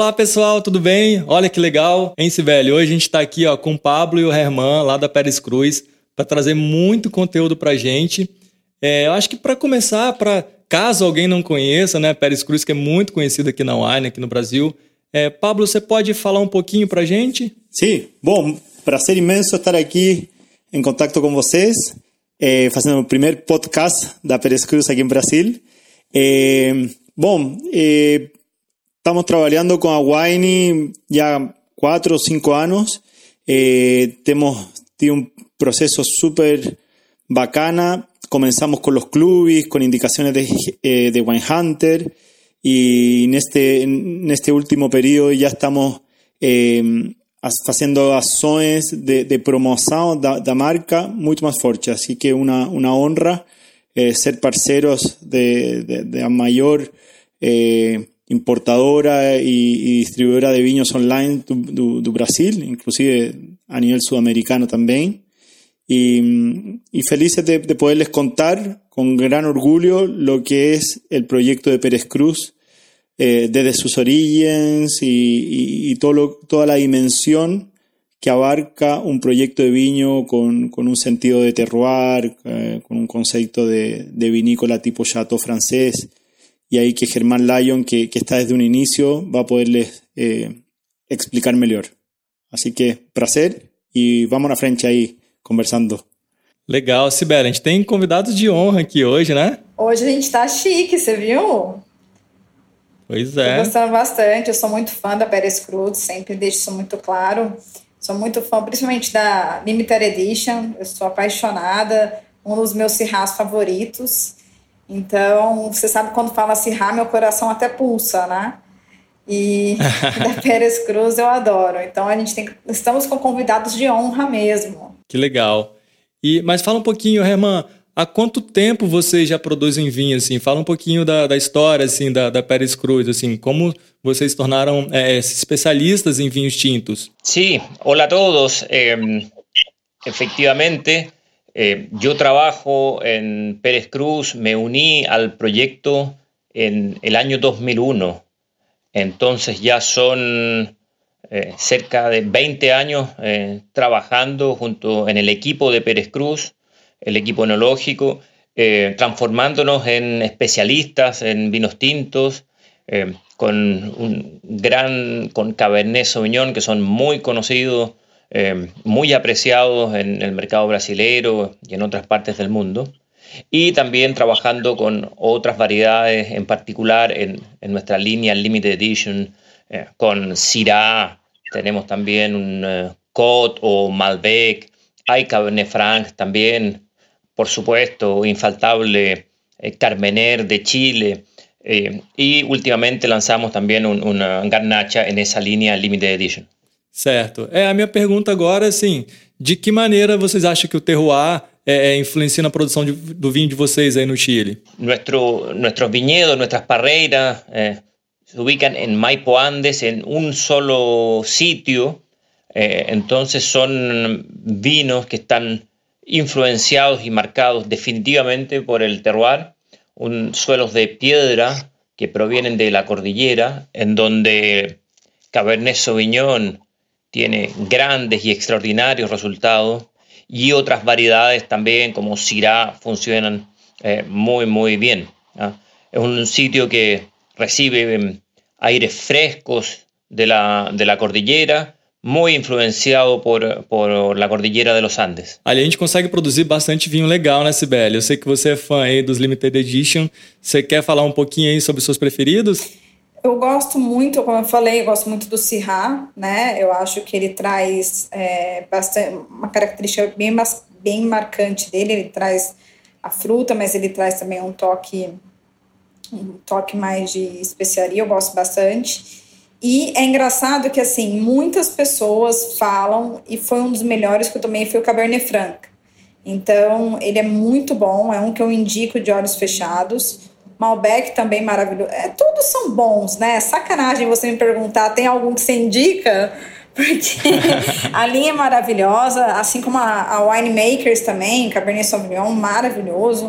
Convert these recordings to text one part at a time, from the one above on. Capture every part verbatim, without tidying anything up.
Olá pessoal, tudo bem? Olha que legal, hein, Cibele? Hoje a gente está aqui ó, com o Pablo e o Herman lá da Pérez Cruz para trazer muito conteúdo para a gente. É, eu acho que para começar, para caso alguém não conheça, né, Pérez Cruz, que é muito conhecido aqui na Wine, aqui no Brasil. É, Pablo, você pode falar um pouquinho para a gente? Sim, bom, prazer imenso estar aqui em contato com vocês, eh, fazendo o primeiro podcast da Pérez Cruz aqui em Brasil. Eh, bom, eh, estamos trabalhando com a Wine já quatro ou cinco anos. Eh, temos tido um processo super bacana. Comenzamos con los clubes, con indicaciones de, eh, de Wine Hunter, y en este, en este último periodo ya estamos eh, haciendo ações de, de promoción da, da marca muito más fuerte. Así que una, una honra eh, ser parceros de, de, de la mayor eh, importadora y, y distribuidora de vinos online do, do, do Brasil, inclusive a nivel sudamericano también. Y, y felices de, de poderles contar con gran orgullo lo que es el proyecto de Pérez Cruz eh, desde sus orígenes y, y, y todo lo, toda la dimensión que abarca un proyecto de viño con, con un sentido de terroir, eh, con un concepto de, de vinícola tipo chateau francés, y ahí que Germán Lyon, que, que está desde un inicio, va a poderles eh, explicar mejor. Así que, prazer, y vamos a frente aí, conversando. Legal, Cibele, a gente tem convidados de honra aqui hoje, né? Hoje a gente tá chique, você viu? Pois é. Tô gostando bastante, eu sou muito fã da Pérez Cruz, sempre deixo isso muito claro. Sou muito fã, principalmente da Limited Edition, eu sou apaixonada, um dos meus Syrahs favoritos. Então, você sabe quando fala Syrah, meu coração até pulsa, né? E da Pérez Cruz eu adoro. Então, a gente tem, estamos com convidados de honra mesmo. Que legal. E, mas fala um pouquinho, Herman, há quanto tempo vocês já produzem vinho? Assim? Fala um pouquinho da, da história assim, da, da Pérez Cruz, assim, como vocês se tornaram eh, especialistas em vinhos tintos. Sí, hola a todos. Eh, efectivamente, eh, yo trabajo en Pérez Cruz, me uní al proyecto en el año dos mil uno. Entonces ya son Eh, cerca de veinte años eh, trabajando junto en el equipo de Pérez Cruz, el equipo enológico, eh, transformándonos en especialistas en vinos tintos, eh, con un gran, con Cabernet Sauvignon, que son muy conocidos, eh, muy apreciados en el mercado brasilero y en otras partes del mundo, y también trabajando con otras variedades, en particular en, en nuestra línea Limited Edition, Eh, con Syrah, tenemos también un uh, Côte o Malbec, hay Cabernet Franc también, por supuesto, infaltable eh, Carmener de Chile, eh, y últimamente lanzamos también un, una Garnacha en esa línea Limited Edition. Certo. É, a minha pergunta agora, assim, de que maneira vocês acham que o terroir é, é, influencia na produção de, do vinho de vocês aí no Chile? Nuestro, nuestros viñedos, nuestras parreiras, eh, se ubican en Maipo Andes, en un solo sitio, eh, entonces son vinos que están influenciados y marcados definitivamente por el terroir, un, suelos de piedra que provienen de la cordillera, en donde Cabernet Sauvignon tiene grandes y extraordinarios resultados, y otras variedades también como Syrah funcionan eh, muy muy bien, ¿ah? Es un sitio que recibe aires frescos de la, de la cordillera, muy influenciado por, por la cordillera de los Andes. Ali a gente consegue produzir bastante vinho legal, né, Cibele? Eu sei que você é fã aí dos Limited Edition. Você quer falar um pouquinho aí sobre os seus preferidos? Eu gosto muito, como eu falei, eu gosto muito do Syrah, né? Eu acho que ele traz é, bastante, uma característica bem, bem marcante dele. Ele traz a fruta, mas ele traz também um toque... um toque mais de especiaria, eu gosto bastante. E é engraçado que, assim, muitas pessoas falam, e foi um dos melhores que eu tomei, foi o Cabernet Franc. Então, ele é muito bom, é um que eu indico de olhos fechados. Malbec também maravilhoso. É, todos são bons, né? Sacanagem você me perguntar, tem algum que você indica? Porque a linha é maravilhosa, assim como a, a Winemakers também, Cabernet Sauvignon, maravilhoso.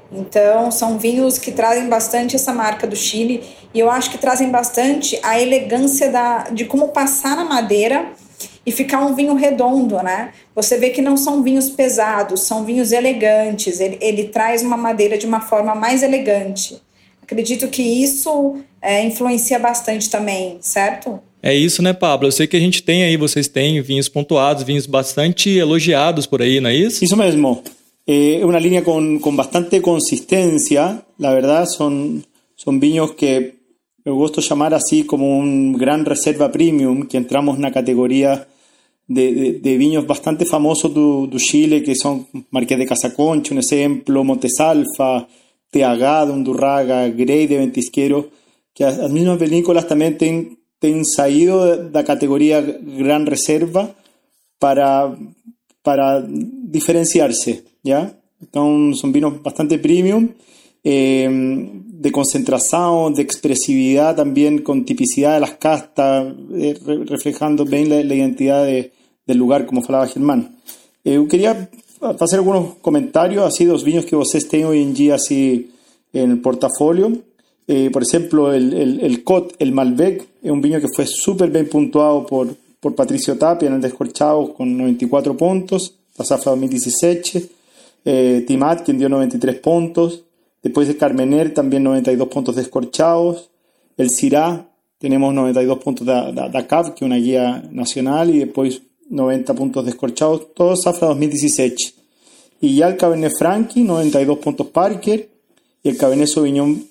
Então, são vinhos que trazem bastante essa marca do Chile e eu acho que trazem bastante a elegância da, de como passar na madeira e ficar um vinho redondo, né? Você vê que não são vinhos pesados, são vinhos elegantes. Ele, ele traz uma madeira de uma forma mais elegante. Acredito que isso é, influencia bastante também, certo? É isso, né, Pablo? Eu sei que a gente tem aí, vocês têm vinhos pontuados, vinhos bastante elogiados por aí, não é isso? Isso mesmo. Es eh, una línea con, con bastante consistencia. La verdad son, son vinos que me gusta llamar así como un gran reserva premium, que entramos en una categoría de, de, de vinos bastante famosos de Chile, que son Marqués de Casaconcha, un ejemplo, Montesalfa, T H de Undurraga, Grey de Ventisquero, que las mismas vinícolas también tienen, tienen salido de la categoría Gran Reserva para, para diferenciarse, ¿ya? Entonces son vinos bastante premium, eh, de concentración, de expresividad también, con tipicidad de las castas, eh, re, reflejando bien la, la identidad de, del lugar, como falaba Germán. Eh, quería hacer algunos comentarios así dos vinos que ustedes tienen hoy en día así en el portafolio. Eh, por ejemplo, el, el, el Cot, el Malbec, es un vino que fue súper bien puntuado por, por Patricio Tapia en el Descorchado con noventa y cuatro puntos, la zafra dos mil diecisiete, eh, Timat, quien dio noventa y tres puntos, después el Carmener también noventa y dos puntos descorchados, el Syrah tenemos noventa y dos puntos de, de, de A C A V, que es una guía nacional, y después noventa puntos descorchados, todo zafra dos mil diecisiete. Y ya el Cabernet Franc, noventa y dos puntos Parker, y el Cabernet Sauvignon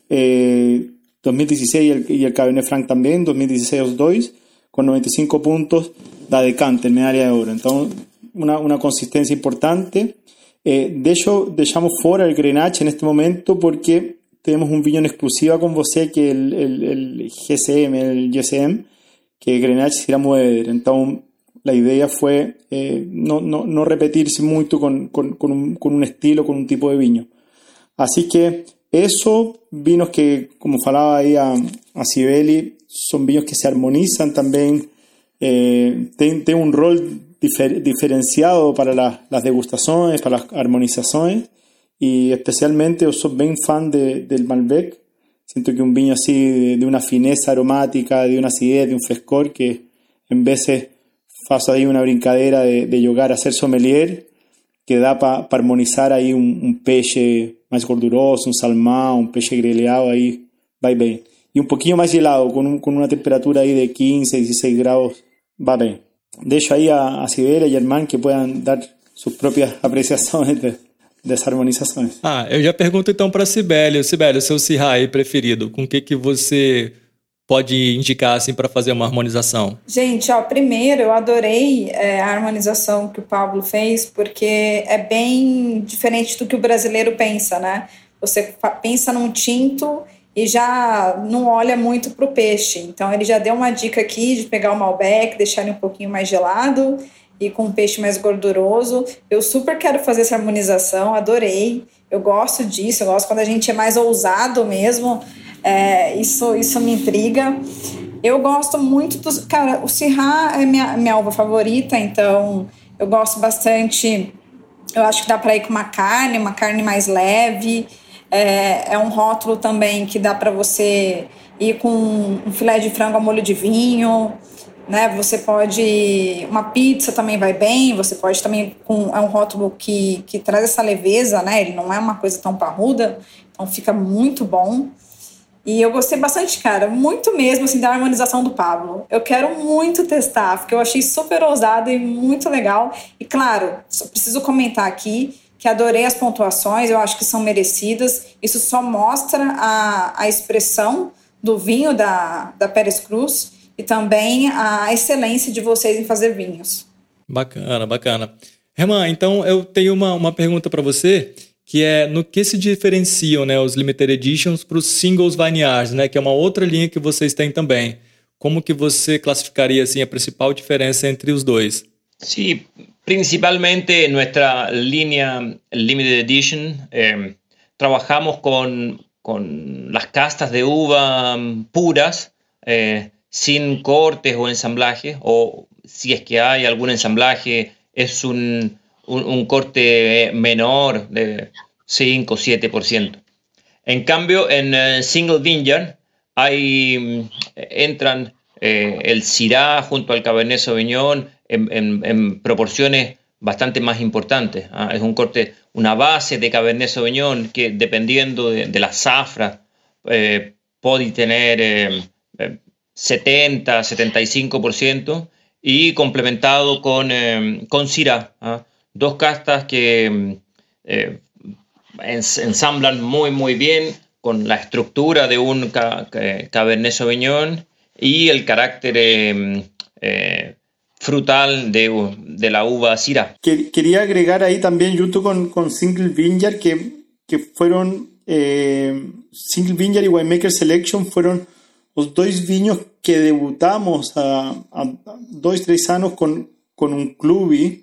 eh, dos mil dieciséis y el, y el Cabernet Franc también, dos mil dieciséis los dos, con noventa y cinco puntos da Decanter, medalla de oro. Entonces, una, una consistencia importante. Eh, de hecho, dejamos fuera el Grenache en este momento porque tenemos un vino en exclusiva con vosé, que el, el, el G C M, el G C M, que Grenache será Moeder. Entonces, la idea fue eh, no, no, no repetirse mucho con, con, con, un, con un estilo, con un tipo de vino. Así que eso, vinos que, como falaba ahí a, a Sibeli, son vinos que se armonizan también, eh, tienen ten un rol difer, diferenciado para la, las degustaciones, para las armonizaciones, y especialmente yo soy bien fan de, del Malbec. Siento que un vino así de, de una fineza aromática, de una acidez, de un frescor, que en veces faço ahí una brincadera de, de llegar a ser sommelier, que da para pa armonizar ahí un, un peixe más gorduroso, un salmón, un peixe grelhado, ahí va bien. Y un poquillo más helado, con, un, con una temperatura ahí de quince, dieciséis grados, va bien. Dejo ahí a, a Sibeli y a Germán que puedan dar sus propias apreciações de, dessas harmonizações. Ah, eu já pergunto então para Sibeli. Sibeli, o seu Syrah aí preferido, com o que, que você pode indicar assim para fazer uma harmonização? Gente, ó, primeiro eu adorei é, a harmonização que o Pablo fez, porque é bem diferente do que o brasileiro pensa, né? Você pensa num tinto e já não olha muito para o peixe. Então ele já deu uma dica aqui de pegar o Malbec, deixar ele um pouquinho mais gelado e com um peixe mais gorduroso. Eu super quero fazer essa harmonização, adorei. Eu gosto disso, eu gosto quando a gente é mais ousado mesmo. É, isso, isso me intriga. Eu gosto muito dos... Cara, o Syrah é minha, minha uva favorita, então eu gosto bastante. Eu acho que dá para ir com uma carne, uma carne mais leve. É, é um rótulo também que dá para você ir com um filé de frango a molho de vinho, né? Você pode... Uma pizza também vai bem. Você pode também... Com, é um rótulo que, que traz essa leveza, né? Ele não é uma coisa tão parruda, então fica muito bom. E eu gostei bastante, cara, muito mesmo, assim, da harmonização do Pablo. Eu quero muito testar, porque eu achei super ousado e muito legal. E, claro, só preciso comentar aqui que adorei as pontuações, eu acho que são merecidas. Isso só mostra a, a expressão do vinho da, da Pérez Cruz e também a excelência de vocês em fazer vinhos. Bacana, bacana. Herman, então eu tenho uma, uma pergunta para você, que é no que se diferenciam, né, os Limited Editions para os Singles Vineyards, né, que é uma outra linha que vocês têm também. Como que você classificaria assim, a principal diferença entre os dois? Sí, principalmente en nuestra línea Limited Edition eh, trabajamos con, con las castas de uva puras, eh, sin cortes o ensamblaje, o si es que hay algún ensamblaje, es un... Un, un corte menor, de cinco, siete por ciento. En cambio, en uh, Single Vineyard hay, entran eh, el Syrah junto al Cabernet Sauvignon en, en, en proporciones bastante más importantes. ¿ah? Es un corte, una base de Cabernet Sauvignon que dependiendo de, de la zafra eh, puede tener eh, eh, setenta, setenta y cinco por ciento y complementado con, eh, con Syrah. ¿ah? Dos castas que eh, ensamblan muy muy bien con la estructura de un ca Cabernet Sauvignon y el carácter eh, eh, frutal de, de la uva Syrah. Quería agregar ahí también, junto con, con Single Vineyard, que, que fueron eh, Single Vineyard y Winemaker Selection fueron los dos viños que debutamos a, a, a dos, tres años con, con un club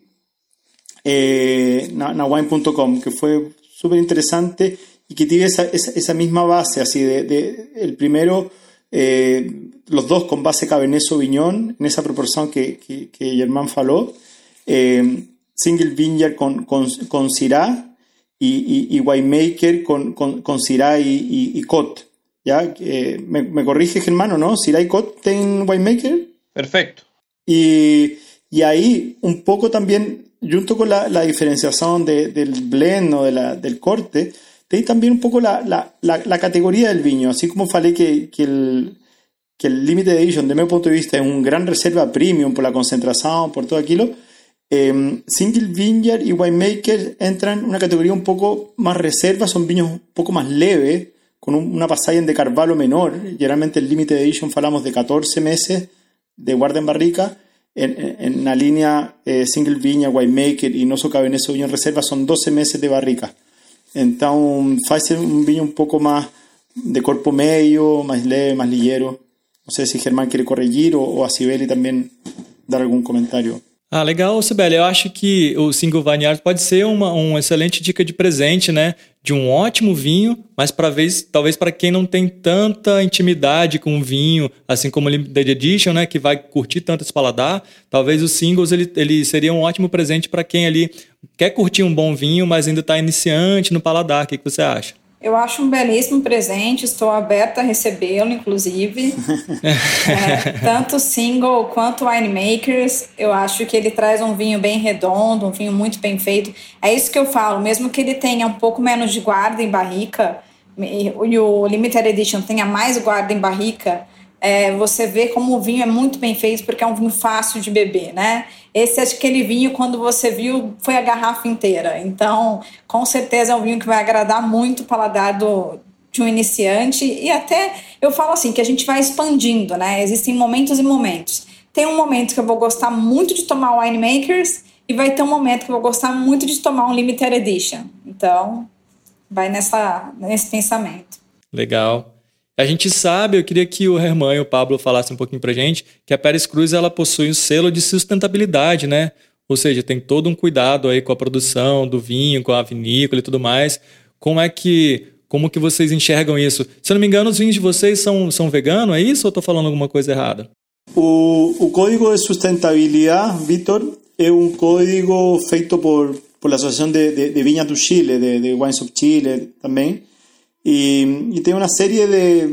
eh, na wine punto com, que fue súper interesante y que tiene esa, esa, esa misma base, así de, de el primero, eh, los dos con base Cabernet Sauvignon, en esa proporción que, que, que Germán faló, eh, Single Vineyard con, con, con Syrah y, y, y Winemaker con, con, con Syrah y, y, y Cot. ¿Ya? Eh, me, me corrige Germán, ¿o no? Syrah y Cot tienen Winemaker. Perfecto. Y, y ahí un poco también, junto con la, la diferenciación de, del blend o de la, del corte, te di también un poco la, la, la, la categoría del viño, así como falé que, que el que el Limited Edition, de mi punto de vista, es un gran reserva premium por la concentración, por todo aquello. Eh, Single Vineyard y Winemaker entran en una categoría un poco más reserva, son viños un poco más leves, con un, una pasada de Carvalho menor. Generalmente el Limited Edition falamos de catorce meses de guarda en barrica. En, en, en la línea eh, Single Vineyard, Winemaker y Noso Cabernet Sauvignon Reserva son doce meses de barrica. Entonces, hace un viño un poco más de cuerpo medio, más leve, más ligero. No sei se Germán quiere corrigir ou, ou a Cibele também dar algum comentário. Ah, legal, Cibele. Eu acho que o Single Vineyard pode ser uma, uma excelente dica de presente, né? De um ótimo vinho, mas pra vez, talvez para quem não tem tanta intimidade com o vinho, assim como o Limited Edition, né? Que vai curtir tanto esse paladar, talvez o Singles ele, ele seria um ótimo presente para quem ali quer curtir um bom vinho, mas ainda está iniciante no paladar. O que, que você acha? Eu acho um belíssimo presente, estou aberta a recebê-lo, inclusive. é, tanto Single quanto Winemakers, eu acho que ele traz um vinho bem redondo, um vinho muito bem feito. É isso que eu falo, mesmo que ele tenha um pouco menos de guarda em barrica, e o Limited Edition tenha mais guarda em barrica, é, você vê como o vinho é muito bem feito, porque é um vinho fácil de beber, né? Esse é aquele vinho, quando você viu, foi a garrafa inteira. Então, com certeza é um vinho que vai agradar muito o paladar do, de um iniciante. E até, eu falo assim, que a gente vai expandindo, né? Existem momentos e momentos. Tem um momento que eu vou gostar muito de tomar o Winemakers e vai ter um momento que eu vou gostar muito de tomar um Limited Edition. Então, vai nessa, nesse pensamento. Legal. A gente sabe, eu queria que o Germán e o Pablo falassem um pouquinho pra gente, que a Pérez Cruz ela possui um selo de sustentabilidade, né? Ou seja, tem todo um cuidado aí com a produção do vinho, com a vinícola e tudo mais. Como é que, como que vocês enxergam isso? Se eu não me engano, os vinhos de vocês são, são veganos, é isso ou eu tô falando alguma coisa errada? O, o Código de Sustentabilidade, Vitor, é um código feito por, por a Associação de, de, de Viñas do Chile, de, de Wines of Chile também. Y, y tiene una serie de,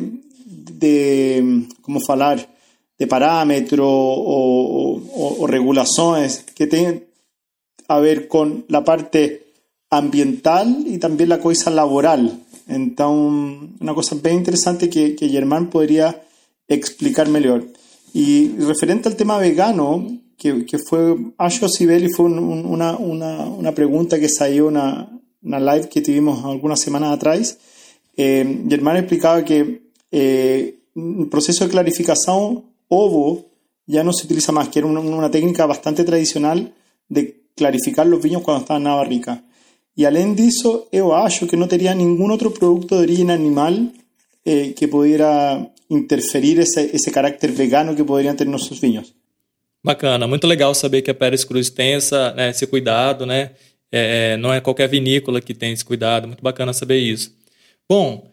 de ¿cómo falar? De parámetros o, o, o regulaciones que tienen a ver con la parte ambiental y también la cosa laboral. Entonces, una cosa bien interesante que, que Germán podría explicar mejor. Y referente al tema vegano, que, que fue, Asho Cibele, fue un, un, una, una, una pregunta que salió en una, una live que tuvimos algunas semanas atrás. Eh, Germán explicaba que eh, el proceso de clarificación ovo ya no se utiliza más, que era una, una técnica bastante tradicional de clarificar los viños cuando estaban en la barrica. Y além disso, eu acho que no tenía ningún otro producto de origen animal eh, que pudiera interferir ese, ese carácter vegano que podrían tener nuestros viños. Bacana, muito legal saber que a Pérez Cruz tem essa, né, esse cuidado, né? É, não é qualquer vinícola que tem esse cuidado, muito bacana saber isso. Bom,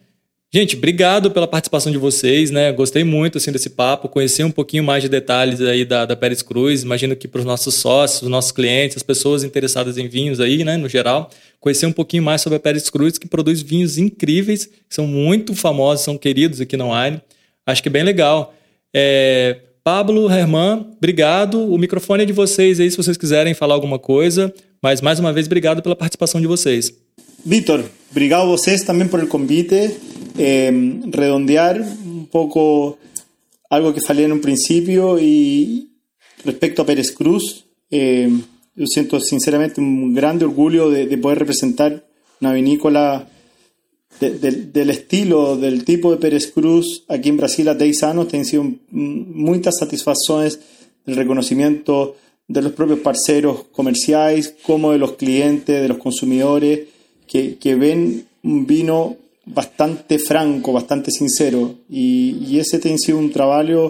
Gente, obrigado pela participação de vocês, né? Gostei muito assim, desse papo, conhecer um pouquinho mais de detalhes aí da, da Pérez Cruz. Imagino que para os nossos sócios, os nossos clientes, as pessoas interessadas em vinhos aí, né, no geral, conhecer um pouquinho mais sobre a Pérez Cruz, que produz vinhos incríveis, que são muito famosos, são queridos aqui no Wine. Acho que é bem legal. É... Pablo, Herman, obrigado. O microfone é de vocês aí, se vocês quiserem falar alguma coisa. Mas, mais uma vez, obrigado pela participação de vocês. Vítor, obrigado a vocês também por el convite. Eh, redondear un poco algo que falé en un principio y respecto a Pérez Cruz, eh, yo siento sinceramente un grande orgullo de, de poder representar una vinícola de, de, del estilo, del tipo de Pérez Cruz aquí en Brasil a diez años. Han sido muchas satisfacciones del reconocimiento de los propios parceros comerciales como de los clientes, de los consumidores que, que ven un vino bastante franco, bastante sincero, y, y ese ha sido un trabajo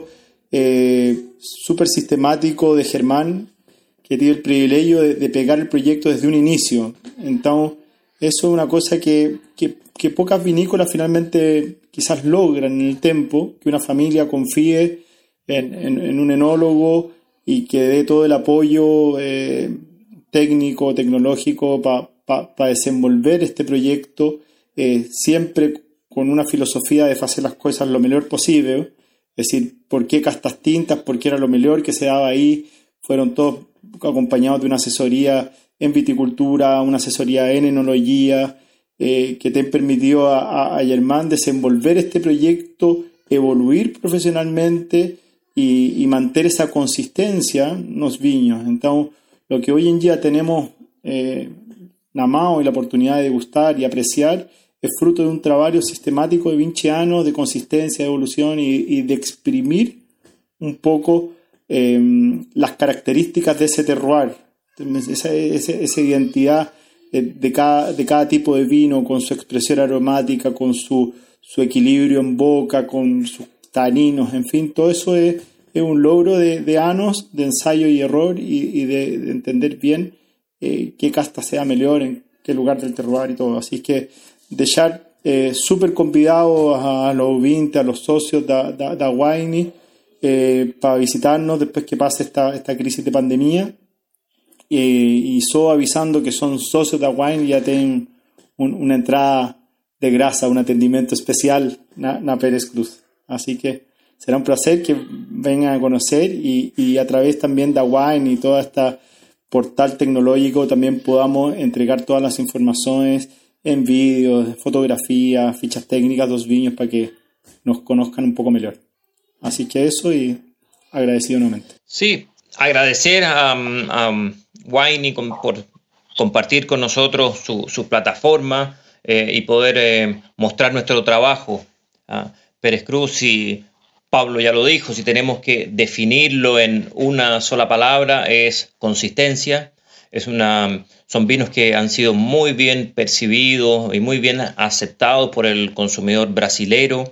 eh, súper sistemático de Germán, que tiene el privilegio de, de pegar el proyecto desde un inicio. Entonces, eso es una cosa que, que, que pocas vinícolas finalmente quizás logran en el tiempo, que una familia confíe en, en, en un enólogo y que dé todo el apoyo eh, técnico, tecnológico para pa, pa desenvolver este proyecto. Eh, siempre con una filosofía de hacer las cosas lo mejor posible, es decir, por qué castas tintas, por qué era lo mejor que se daba ahí, fueron todos acompañados de una asesoría en viticultura, una asesoría en enología, eh, que te permitió a, a, a Germán desenvolver este proyecto, evoluir profesionalmente y, y mantener esa consistencia en los viños. Entonces, lo que hoy en día tenemos eh, na mano y la oportunidad de degustar y apreciar es fruto de un trabajo sistemático de veinte años de consistencia, de evolución y, y de exprimir un poco eh, las características de ese terroir, esa, esa, esa identidad de cada, de cada tipo de vino, con su expresión aromática, con su, su equilibrio en boca, con sus taninos, en fin, todo eso es, es un logro de, de años de ensayo y error y, y de, de entender bien eh, qué casta sea mejor, en qué lugar del terroir y todo. Así que dejar eh, súper convidados a los ouvintes, a los socios da, da, da Wine eh, para visitarnos después que pase esta, esta crisis de pandemia, eh, y solo avisando que son socios da Wine ya tienen un, una entrada de grasa, un atendimiento especial na, na Pérez Cruz. Así que será un placer que vengan a conocer y, y a través también de Wine y todo este portal tecnológico también podamos entregar todas las informaciones en vídeos, fotografías, fichas técnicas de los viños para que nos conozcan un poco mejor. Así que eso, y agradecido nuevamente. Sí, agradecer a, a Wine por compartir con nosotros su, su plataforma eh, y poder eh, mostrar nuestro trabajo. ¿ah? Pérez Cruz, y Pablo ya lo dijo, si tenemos que definirlo en una sola palabra, es consistencia. Es una, son vinos que han sido muy bien percibidos y muy bien aceptados por el consumidor brasilero,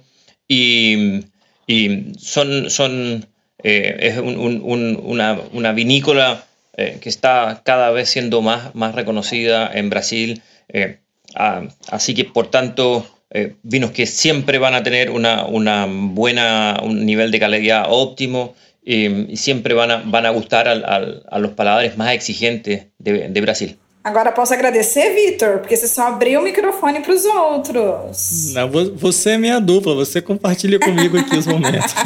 y, y son, son eh, es un, un, una, una vinícola eh, que está cada vez siendo más, más reconocida en Brasil. Eh, ah, así que, por tanto, eh, vinos que siempre van a tener una, una buena, un nivel de calidad óptimo. E, e sempre van a, van a gustar al, al, a los paladares mais exigentes de, de Brasil. Agora posso agradecer, Vítor, porque você só abriu o microfone para os outros. Não, você é minha dupla, você compartilha comigo aqui os momentos.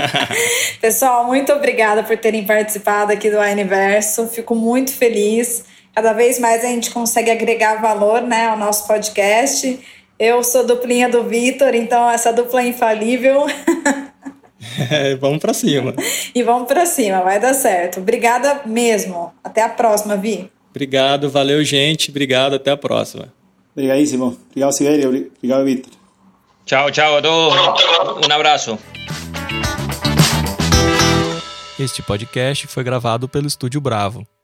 Pessoal, muito obrigada por terem participado aqui do Wineverso. Fico muito feliz. Cada vez mais a gente consegue agregar valor, né, ao nosso podcast. Eu sou duplinha do Vítor, então essa dupla é infalível. É, vamos pra cima. E vamos pra cima, vai dar certo. Obrigada mesmo. Até a próxima, Vi. Obrigado, valeu, gente. Obrigado, até a próxima. Obrigadíssimo. Obrigado, Siberia. Obrigado, Vítor. Tchau, tchau a todos. Um abraço. Este podcast foi gravado pelo Estúdio Bravo.